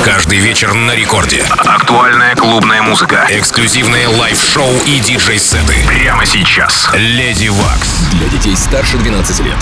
Каждый вечер на рекорде. Актуальная клубная музыка, эксклюзивные лайв-шоу и диджей-сеты. Прямо сейчас. Леди Вакс. Для детей старше 12 лет.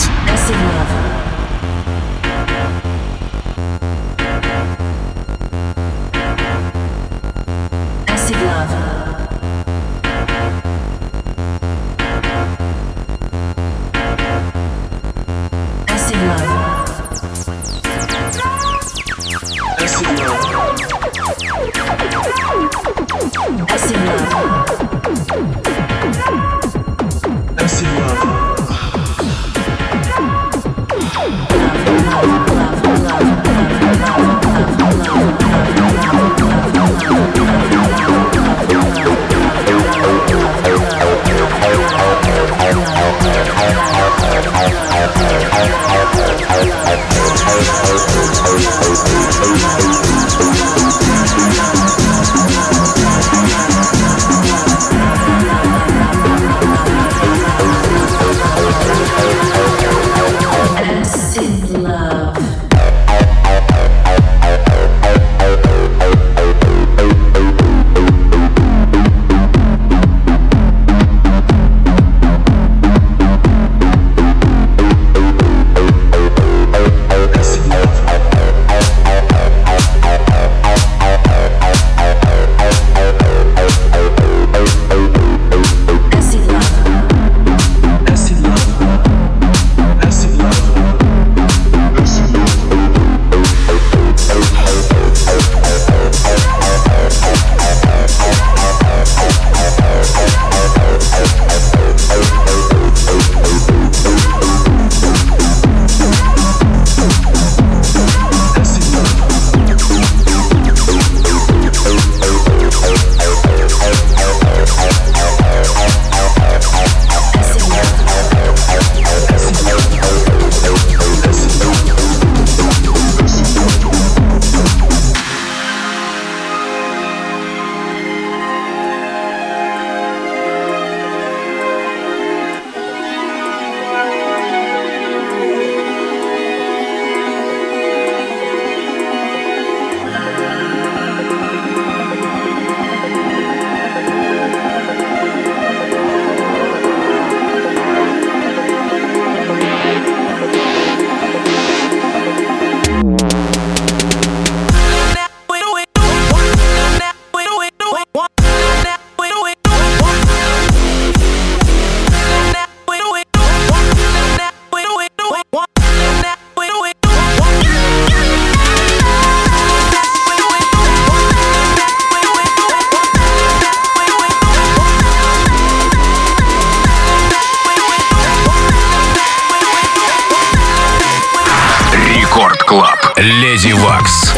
Леди Вакс.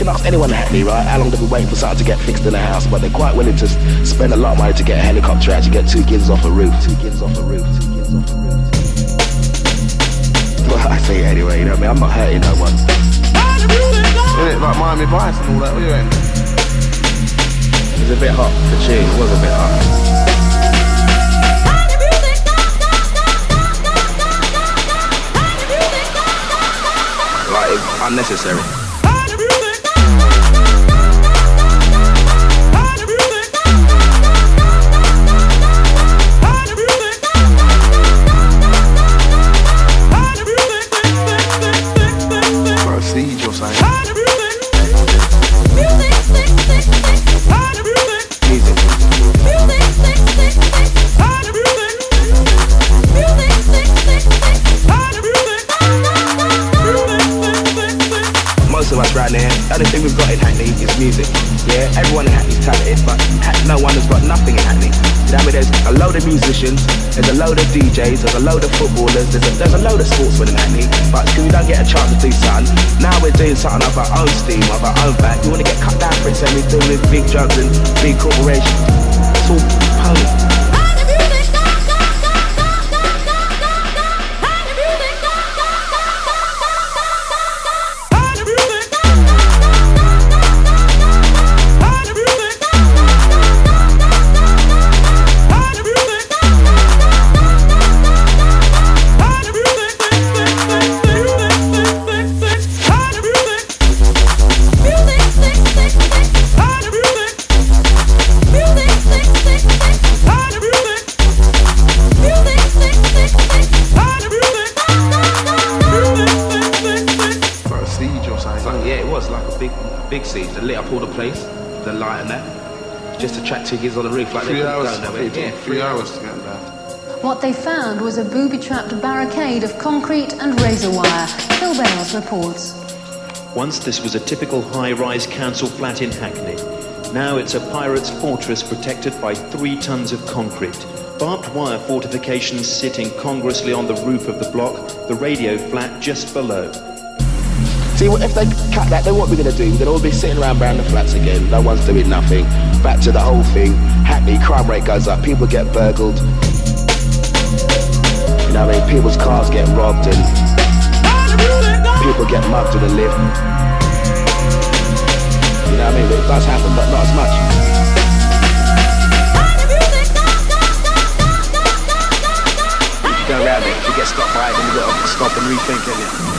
can ask anyone in Hackney, right? How long they've been waiting for something to get fixed in the house, but they're quite willing to spend a lot of money to get a helicopter out to get 2 kids off a roof. 2 kids off a roof. 2 kids off a roof. Well, I say it anyway, you know what I mean? I'm not hurting no one. Isn't it like Miami Vice and all that? What are you in? It was a bit hot for tune. It was a bit hot. Like, unnecessary. Proceed, you're saying. Music. Most of us right now, the only thing we've got in Hackney is music. Yeah, everyone in Hackney's talented, but no one has got nothing in Hackney. You know what I mean? There's a load of musicians, there's a load of DJs, there's a load of footballers, there's a load of sportsmen in Hackney, but because we don't get a chance to do something, now we're doing something of our own steam, of our own back. We want to get cut down for it, so we're doing with big drugs and big corporations. It's all pony. Big siege, they lit up all the place, the light and that, just to track 2 kids on the roof like 3 hours. Yeah, 3 hours to get there. What they found was a booby-trapped barricade of concrete and razor wire. Phil Bales reports. Once this was a typical high-rise council flat in Hackney. Now it's a pirate's fortress protected by 3 tons of concrete. Barbed wire fortifications sit incongruously on the roof of the block, the radio flat just below. See, if they cut that, then what we're going to do? We're going to all be sitting around the flats again. No one's doing nothing. Back to the whole thing. Hackney, crime rate goes up. People get burgled. You know what I mean? People's cars get robbed and people get mugged in the lift. You know what I mean? It does happen, but not as much. If you go around it, if you get stopped by it, then you've got to stop and rethink it.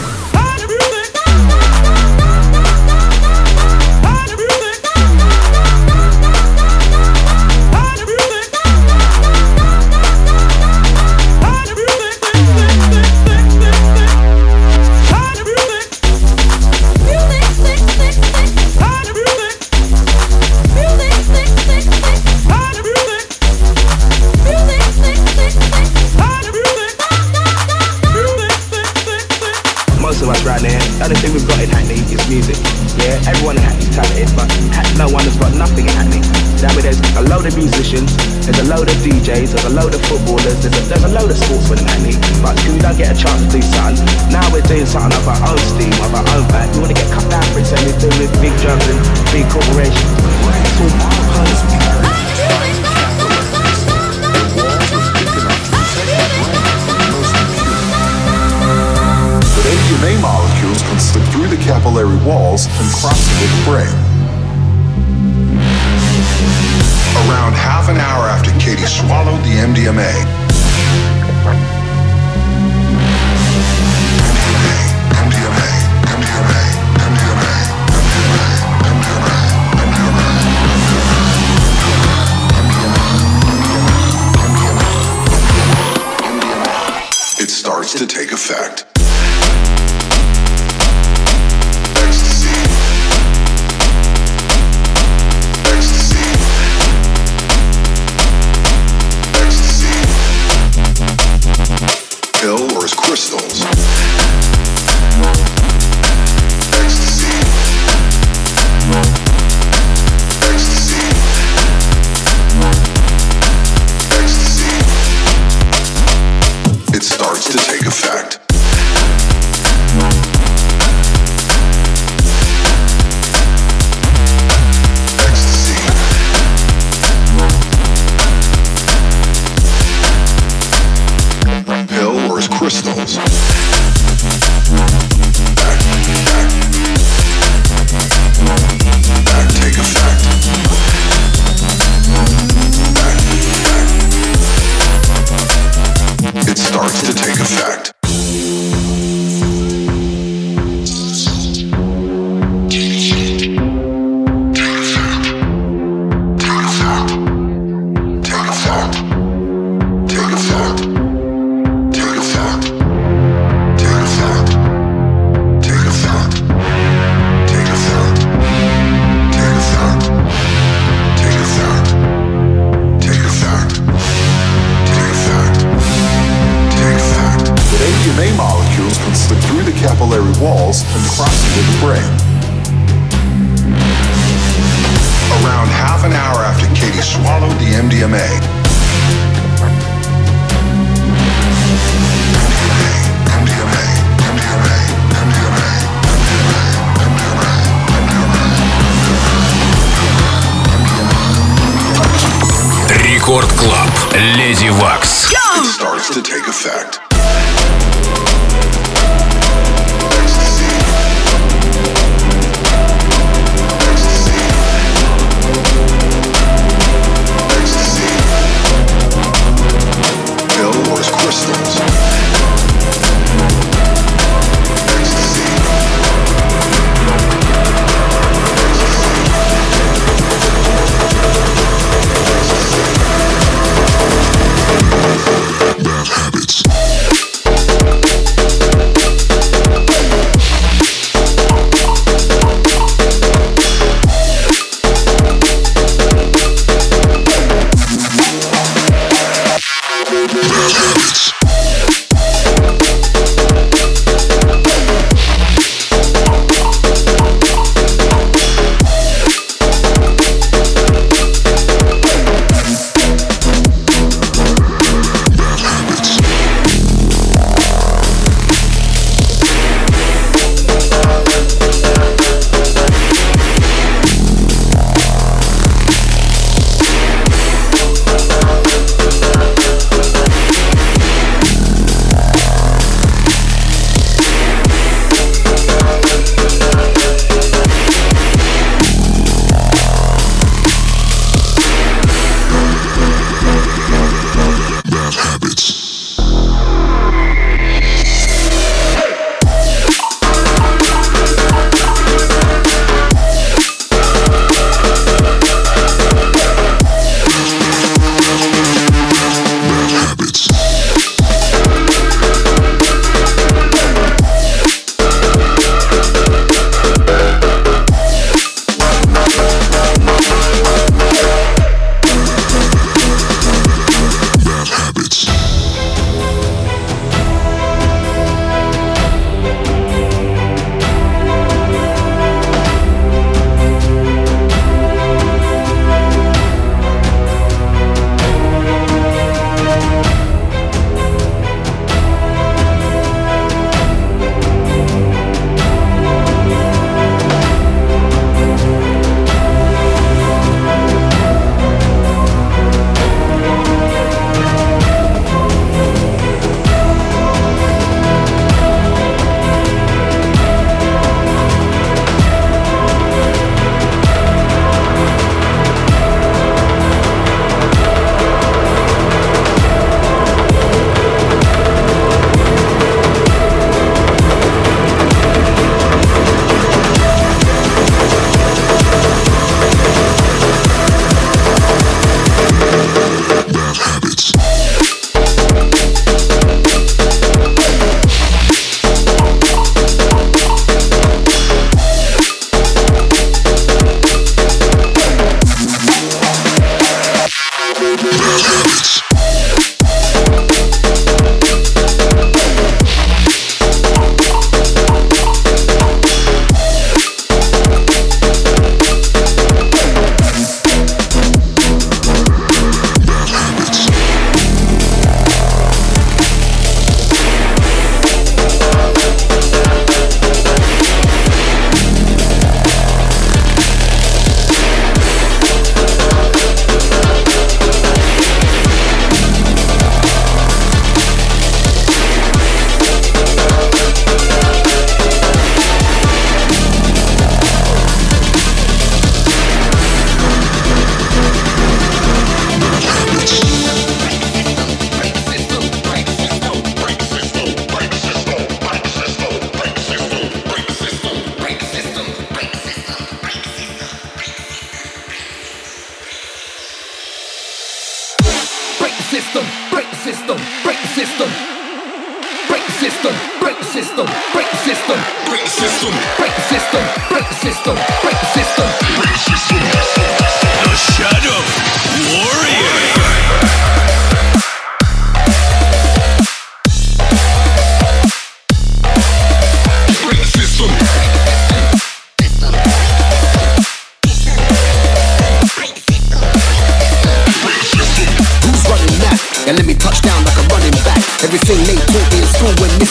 Right now, the only thing we've got in Hackney is music. Yeah, everyone in Hackney's talented, but no one has got nothing in Hackney. You know what I mean? There's a load of musicians, there's a load of DJs, there's a load of footballers, there's a load of sportsmen in Hackney, but because we don't get a chance to do something, now we're doing something of our own steam, of our own back. We want to get cut down for it, so we're doing with big drugs and big corporations. It's all pony. MDMA molecules can slip through the capillary walls and cross into the brain. Around half an hour after Katie swallowed the MDMA, it starts to take effect. Or as crystals. Ecstasy. Ecstasy. Ecstasy. It starts to take effect. MDMA. Рекорд Клаб. Леди Вакс. It starts to take effect.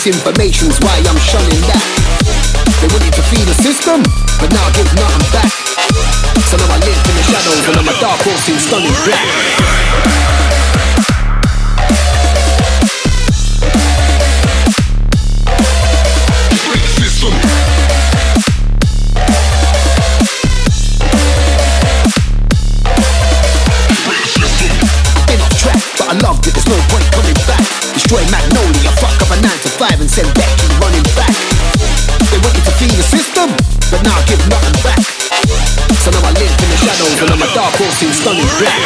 Misinformation's why I'm shunning that. They wanted to feed the system, but now I give nothing back. So now I live in the shadows and I'm a dark horse in stunning black. Been off track, but I loved it, there's no point coming back. Destroy Magnolia, fuck up a 9 to 5 and send Becky running back. They wanted to feed the system, but now I give nothing back. So now I live in the shadows and I'm a dark horse in stunning black.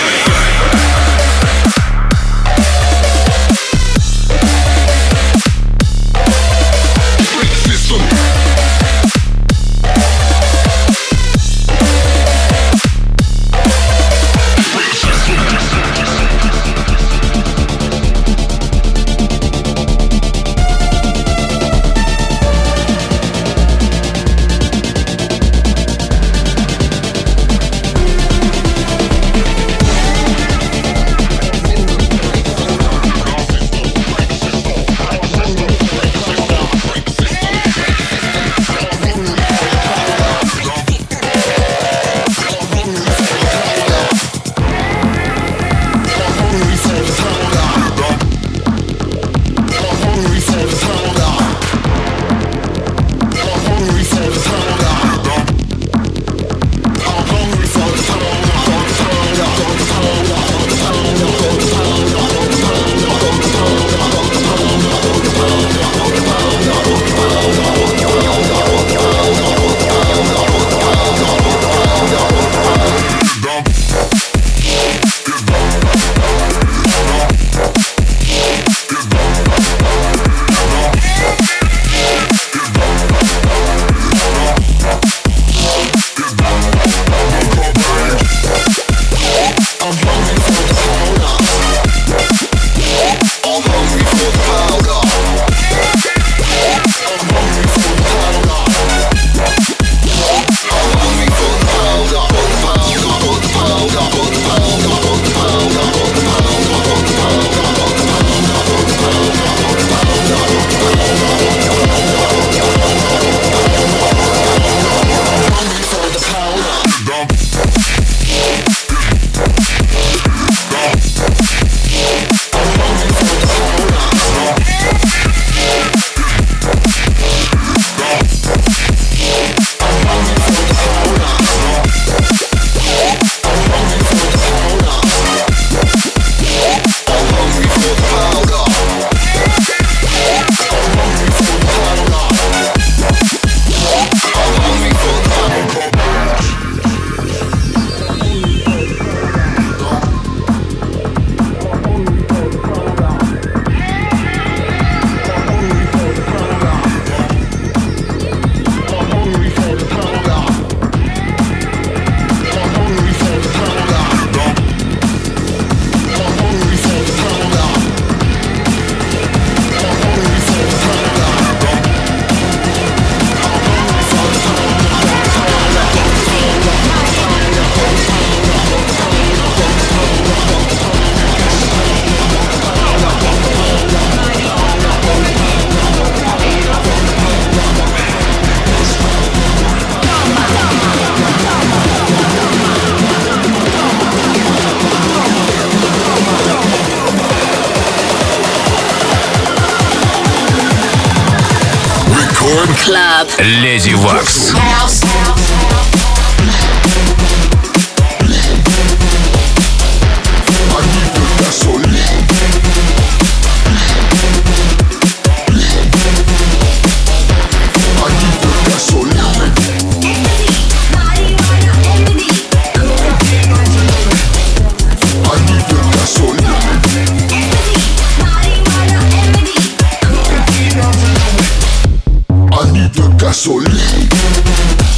Club. Lady Wax. Gasolina.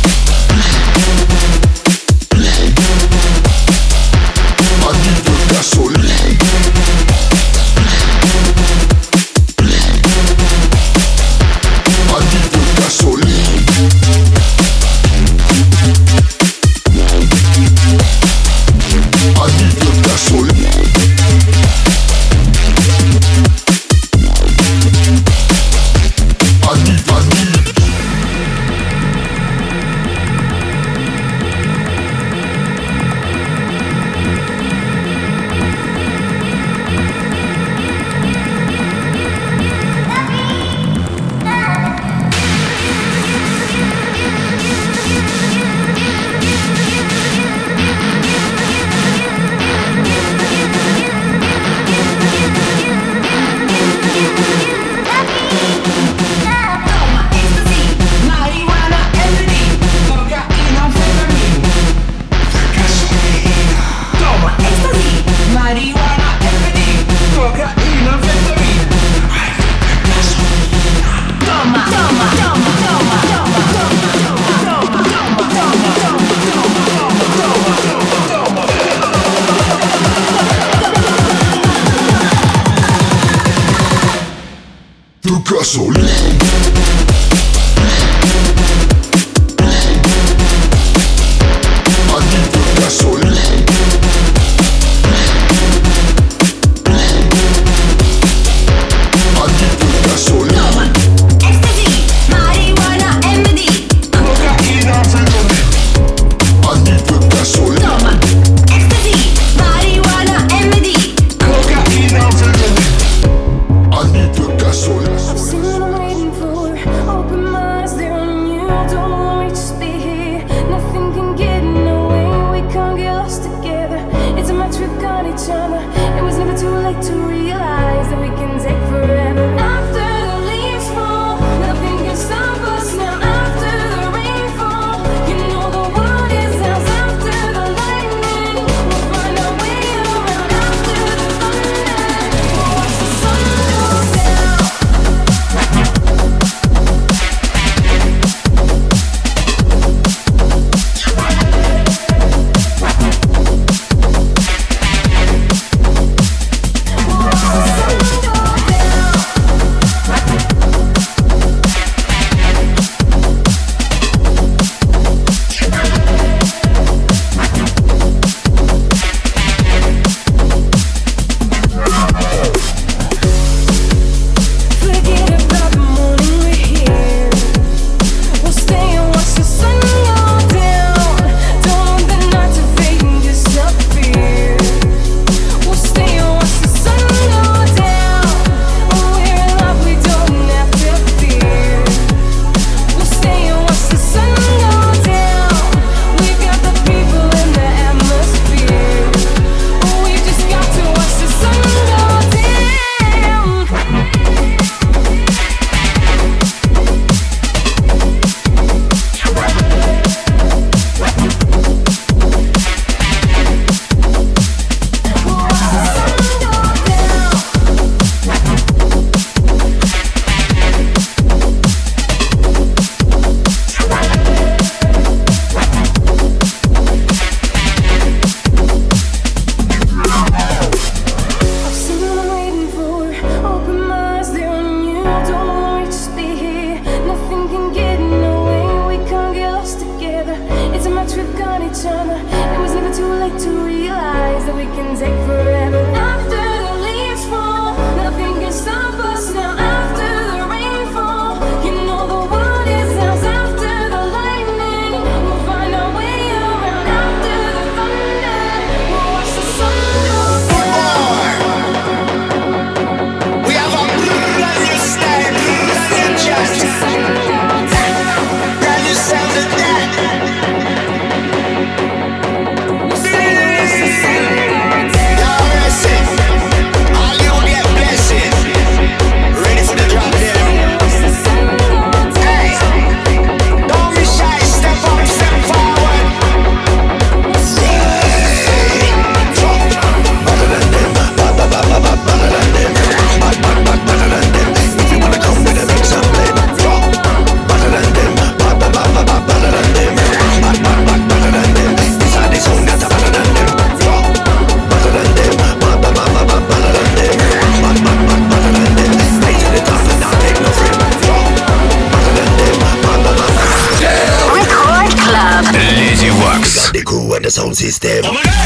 the sound system.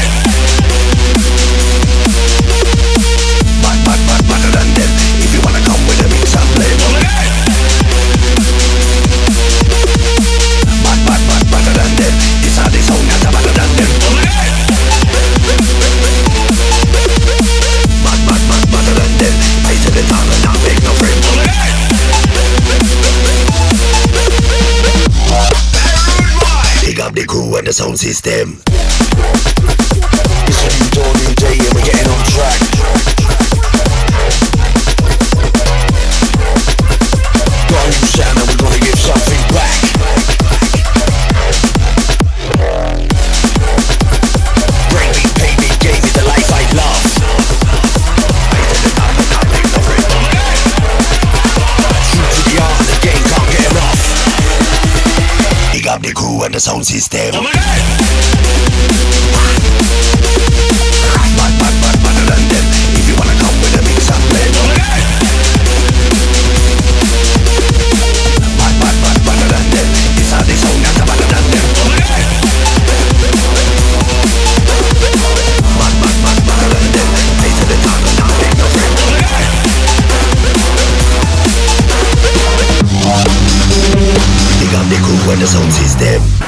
Better than them. If you wanna come with a mix and play. Better than them. This are the sound that's better than them. Better than them. I tell the town and not make no friend. Big up the crew and the sound system. It's a new dawn, new day, and we're getting on track. Got a new sound and we're gonna give something back. Bring me, pay me, gave me the life I love. I tell the top and not make no friend. True to the art, the game can't get enough. Big up the crew and the sound system. Better than them. If you wanna come with a mix and blend.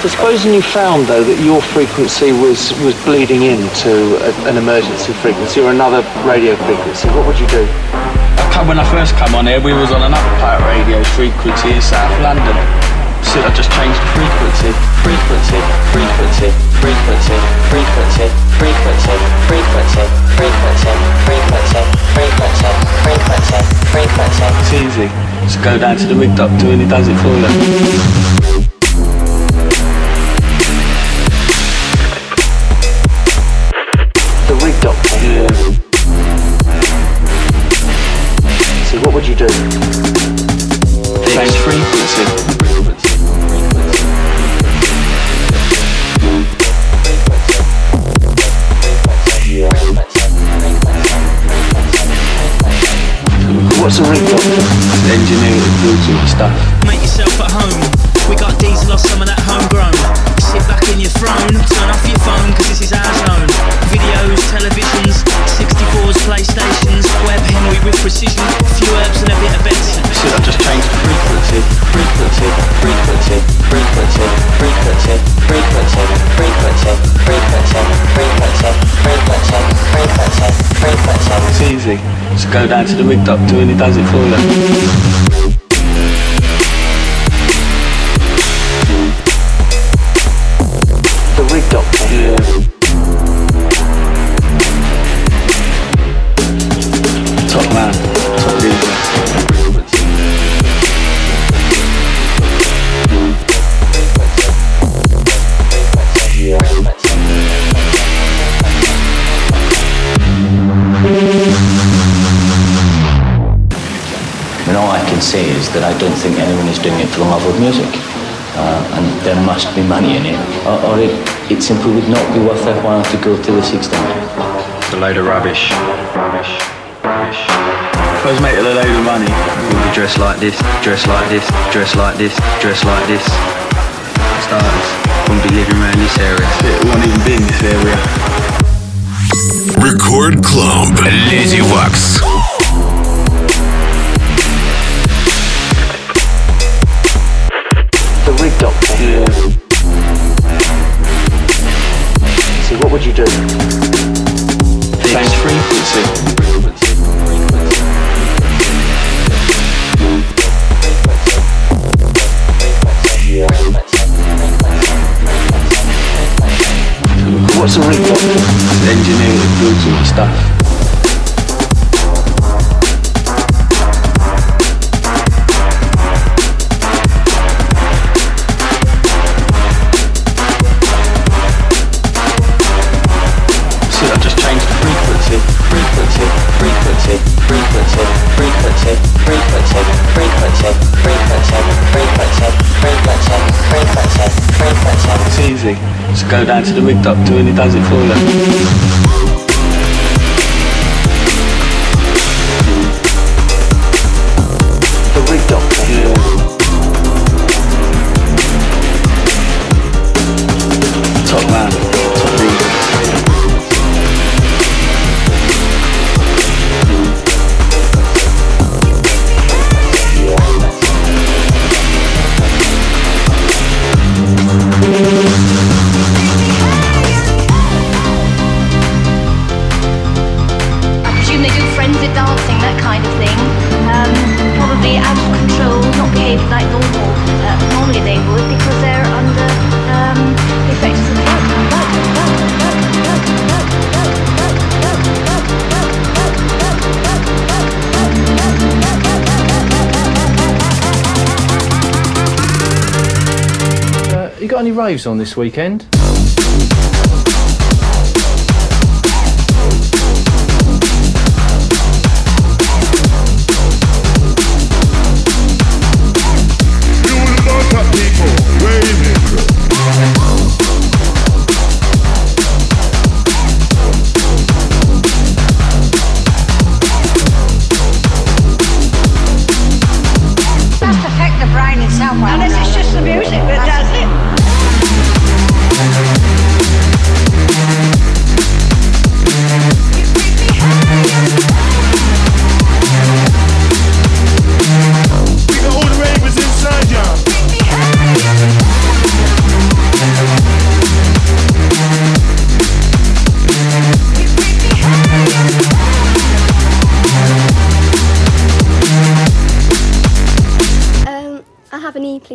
So supposing you found, though, that your frequency was bleeding into an emergency frequency or another radio frequency, what would you do? When I first come on here, we was on an uppipe radio frequency in South London. So I just changed the frequency. Frequency, frequency, frequency, frequency, frequency, frequency, frequency, frequency, frequency, frequency, frequency. It's easy. Just go down to the rig doctor and he does it for you. The rig doctor? Yeah. So what would you do? Change frequency. What's a rig doctor? Engineering and Bluetooth stuff. Make yourself at home. We got diesel or some of that homegrown. Sit back in your throne, turn off your phone, cause this is our zone. Videos, televisions, 64s, PlayStations, web Henry with precision, a few herbs and a bit of Benson. So I just changed the frequency. Frequency, frequency, frequency, frequency, frequency, frequency, frequency, frequency, frequency, frequency, frequency. It's easy. Just go down to the rig doctor and he does it for you. The rig doctor? Yeah. Top man, top leader. I mean, all I can say is that I don't think anyone is doing it for the love of music. And there must be money in it, or it simply would not be worth their while to go to this extent. It's a load of rubbish. Rubbish. Rubbish. If I was making a load of money, we'd be dressed like this, dressed like this, dressed like this, dressed like this. For starters, wouldn't be living around this area. It won't even be in this area. Record Club. Lady Wax. The rig doctor? Yeah. So what would you do? Change frequency. What's a rig doctor? Engineering and Bluetooth stuff. It's easy. Just go down to the rig doctor and he does it for you. The rig doctor? Yeah. Top man, top leader. Dancing, that kind of thing. Probably out of control, not behaving like normal. Normally they would because they're under the effects of the drug. You got any raves on this weekend? Unless it's just the music that does it.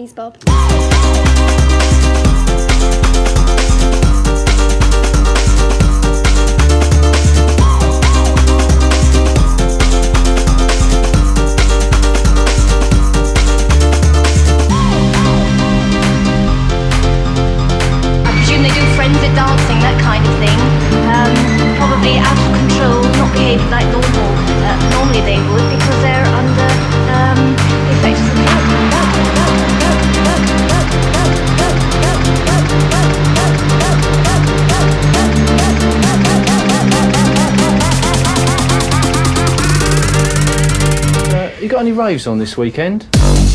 please, Bob. They do frenzied dancing, that kind of thing. Probably out of control, not behaving like normal. Normally they would, because they're under the effects of the You got any raves on this weekend?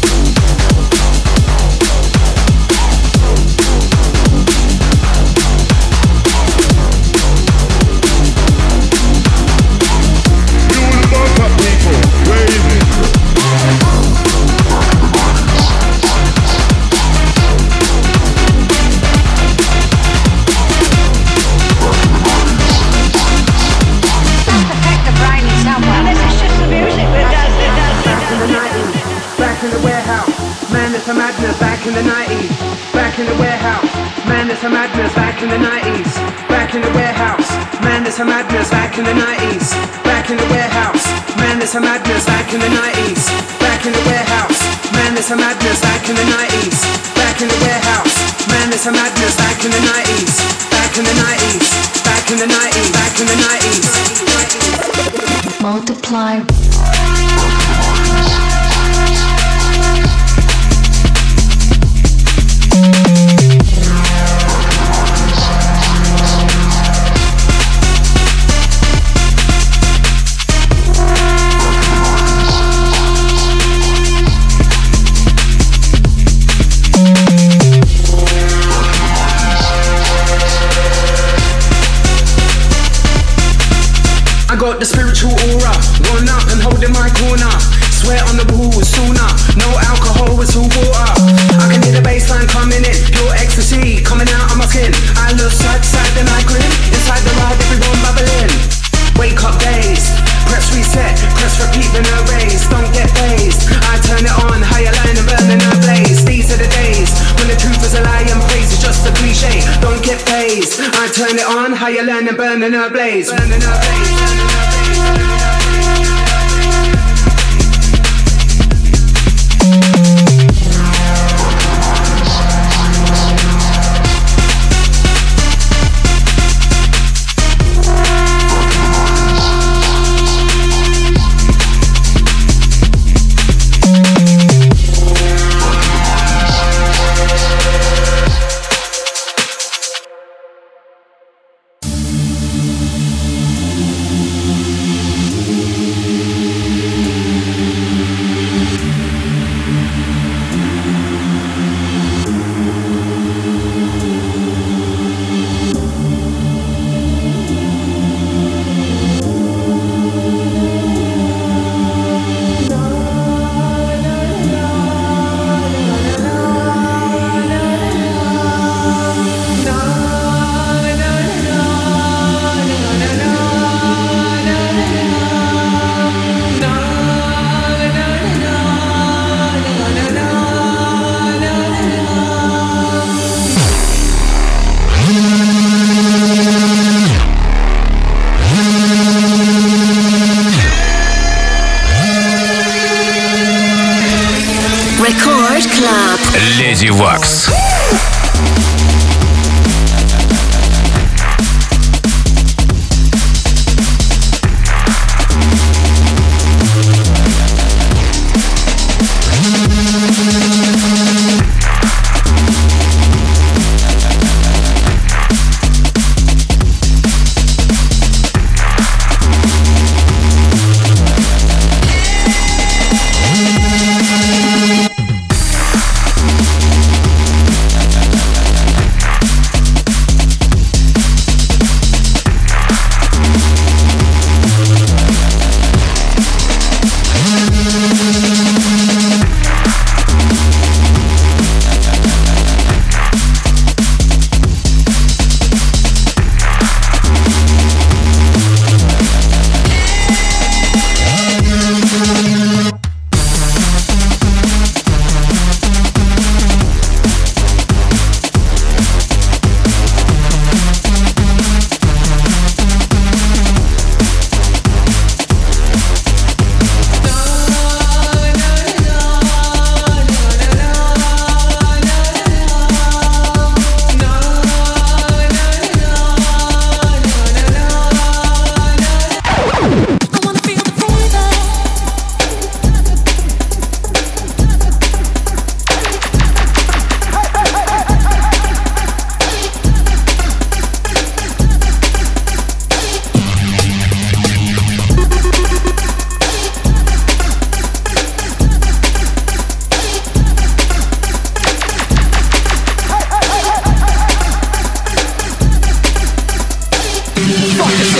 Madness, back in the 90s. Back in the warehouse. Madness and madness, back in the 90s. Back in the warehouse. Madness and madness, back in the 90s. Back in the warehouse. Madness and madness, back in the 90s. Back in the warehouse. Madness and madness, back in the 90s. Back in the warehouse. Madness and madness, back in the 90s. Back in the 90s. Back in the 90s. Back in the 90s. Multiply. I got the spiritual aura, one up and holding my corner. Sweat on the wall was sauna, no alcohol, it's all water. I can hear the bassline coming in, pure ecstasy coming out of my skin. I look side to side then I grin, inside the ride everyone bubbling. Wake up dazed, press reset, press repeat then erase. Don't get dazed, I turn it on, higher line and burning a blaze. These are the days when the truth is a lie and praise is just a cliche. Don't get dazed, I turn it on, higher line and burning a blaze. Burning a blaze.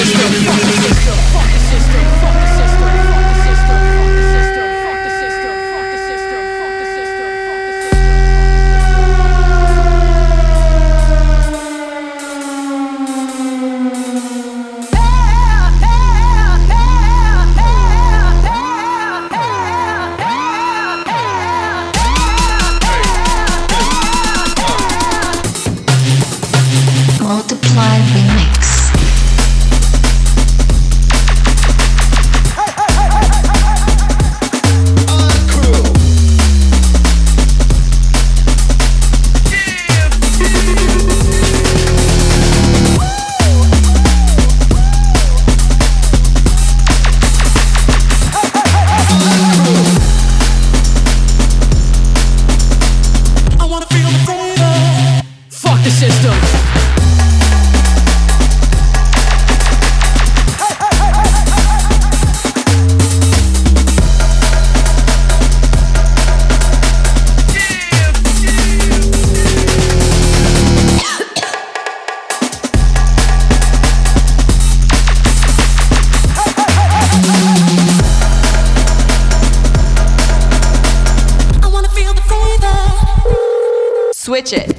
Switch it.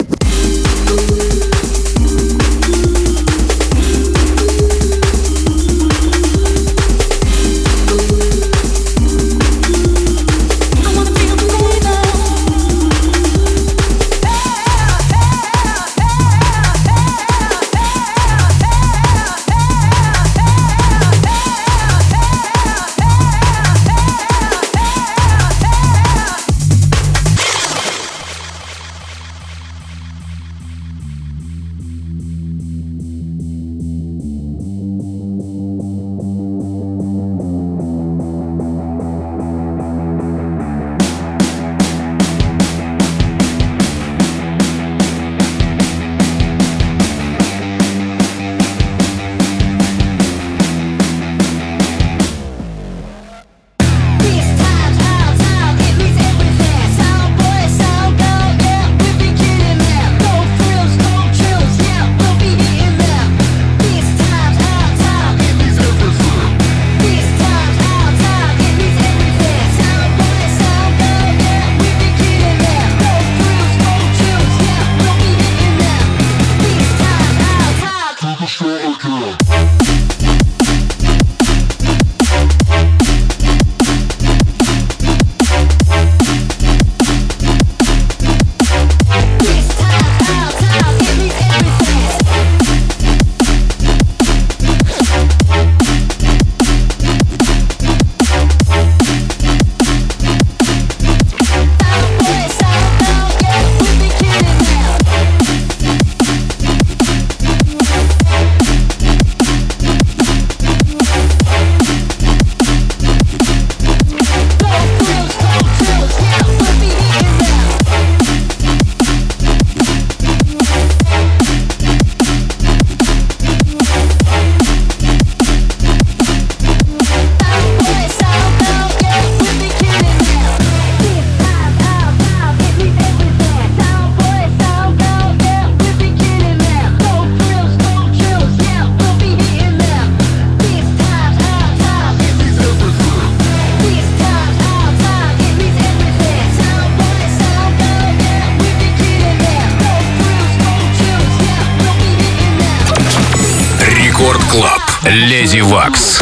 Леди Вакс.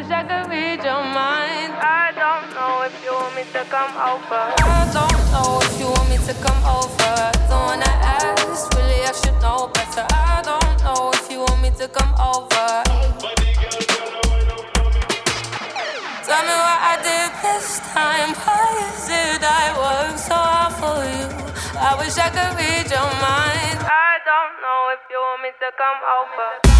wish I could read your mind. I don't know if you want me to come over. I don't know if you want me to come over. Don't wanna ask, really I should know better. I don't know if you want me to come over. Tell me what I did this time. Why did I work so hard for you? I wish I could read your mind. I don't know if you want me to come over.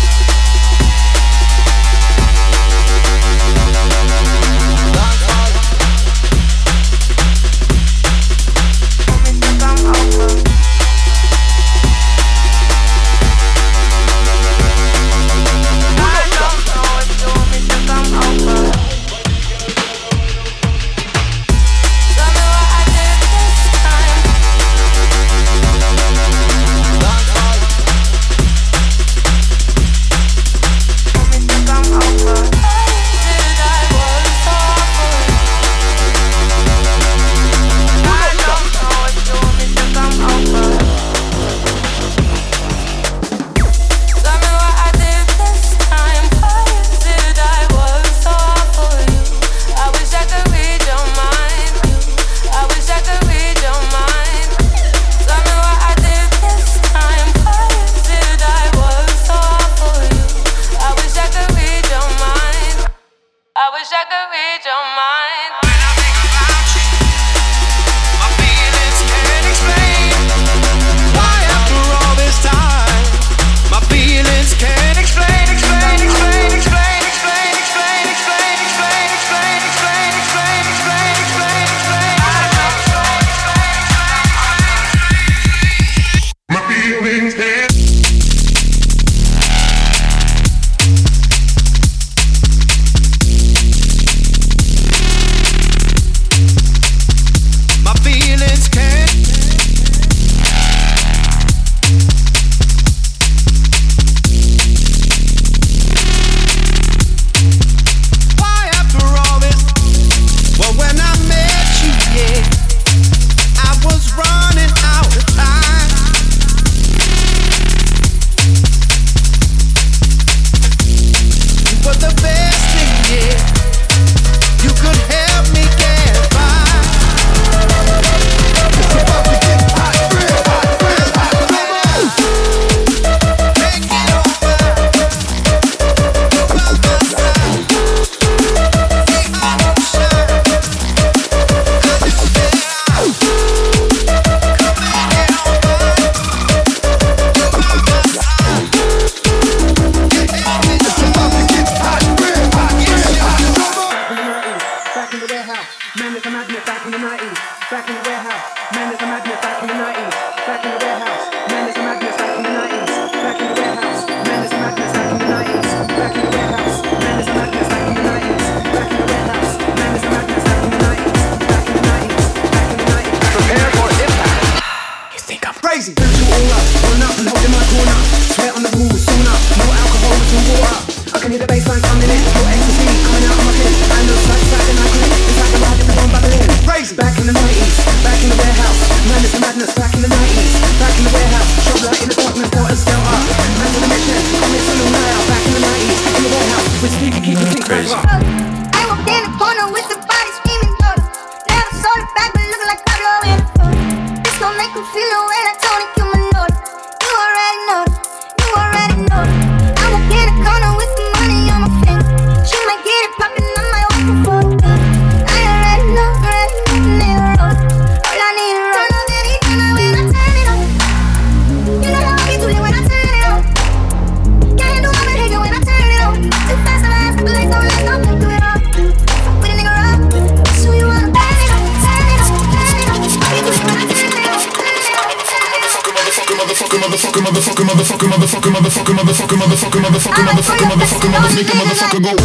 Motherfucker go.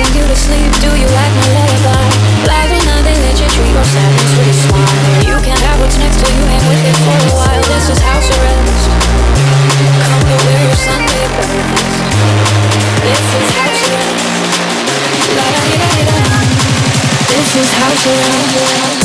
sing you to sleep. Do you like my lullaby? Lies are not, they let you treat your sadness with a smile. You can't have what's next till you hang with it for a while. This is house arrest. Come to wear your Sunday best. This is house arrest. La da di da di da. This is house arrest.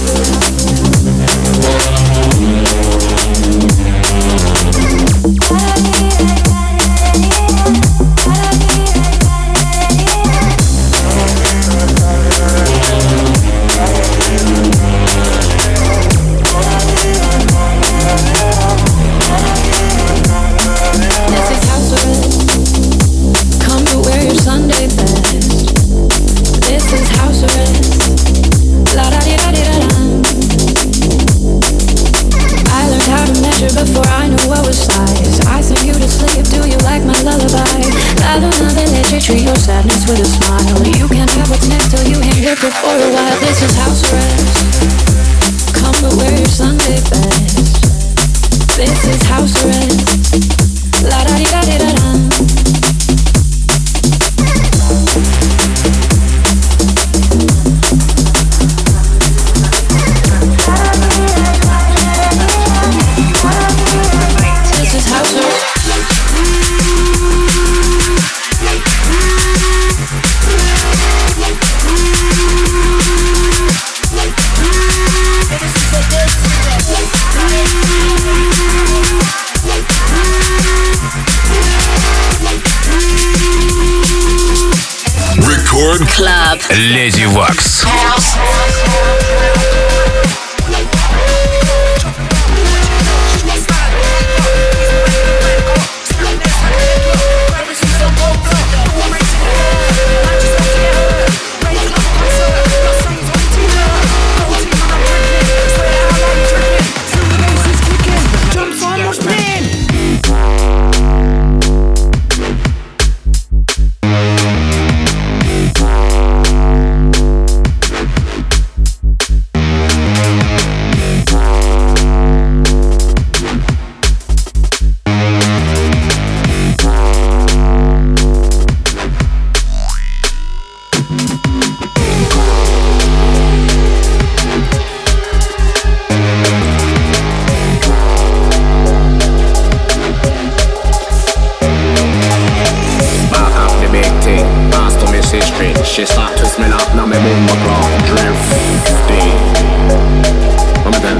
Before I knew what was size, I sing you to sleep. Do you like my lullaby? I don't know, they let you treat your sadness with a smile. You can't have what's next till you hang with it for a while. This is house arrest. Come to wear your Sunday best. This is house arrest. La da di da di da da. Club. Lady Wax. She start twist me up, now me boom my clock drifting. Come again.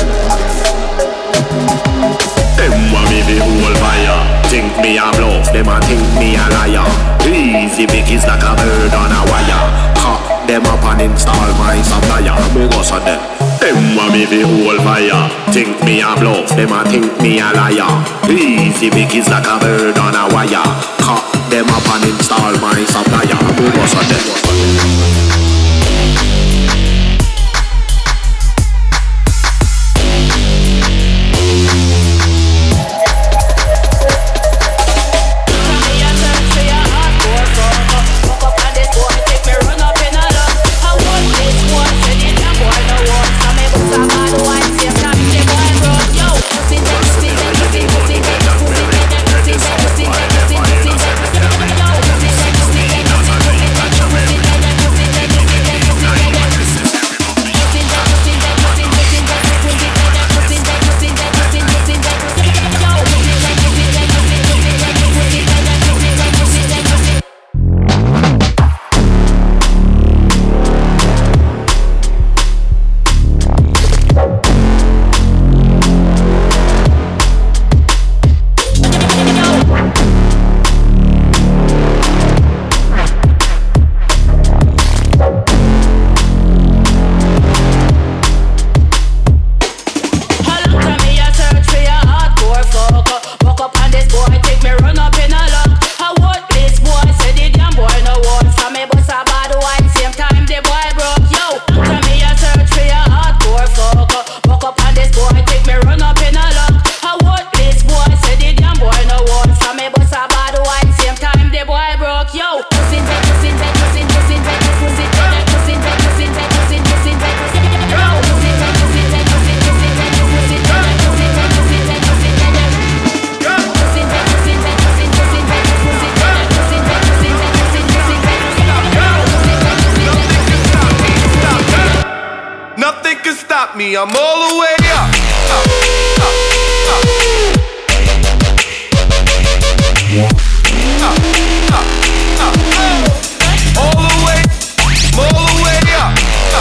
Them want me the whole fire. Think me a bluff, them a think me a liar. Easy big is like a bird on a wire. Cut them up and install my supplier. Me go so them. Them want me the whole fire. Think me a bluff, them a think me a liar. Easy big is like a bird on a wire. Cut them up and install my supplier. Me go so them. Pussy, me, I'm all the way up. All the way up.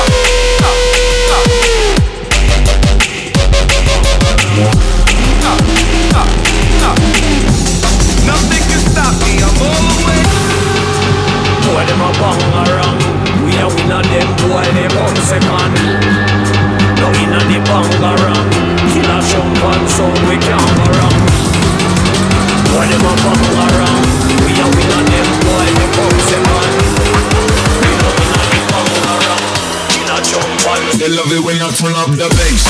Nothing can stop me, I'm all the way. Boy, them a bang around. We a win a them, boy, they come second. No inna the bang around. Kill a show one song, we can't go wrong. Boy, them a bang around. We a win a them, boy, they come second. No inna the bang around. Kill a show one. They love it when I turn up the bass.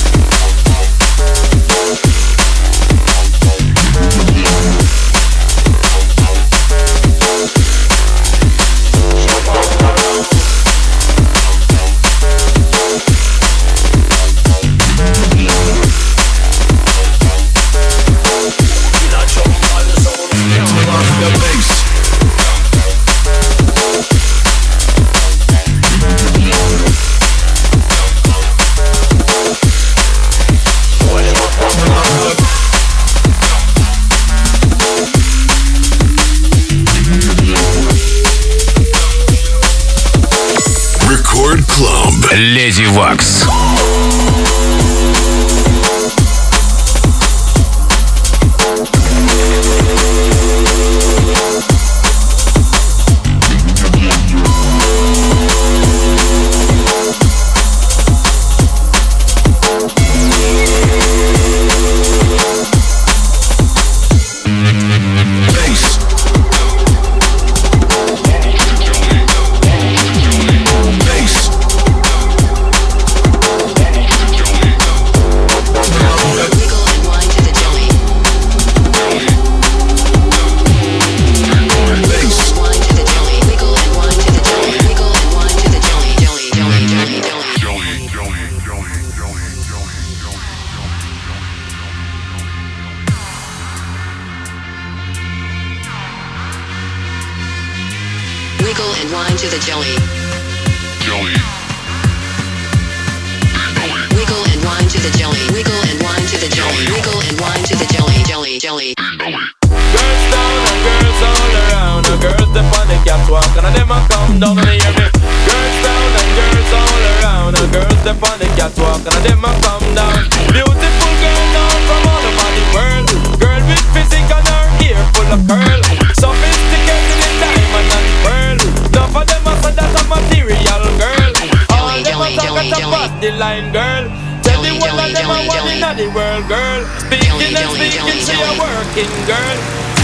Леди Вакс. The world, girl. Speaking and speaking, she a working girl.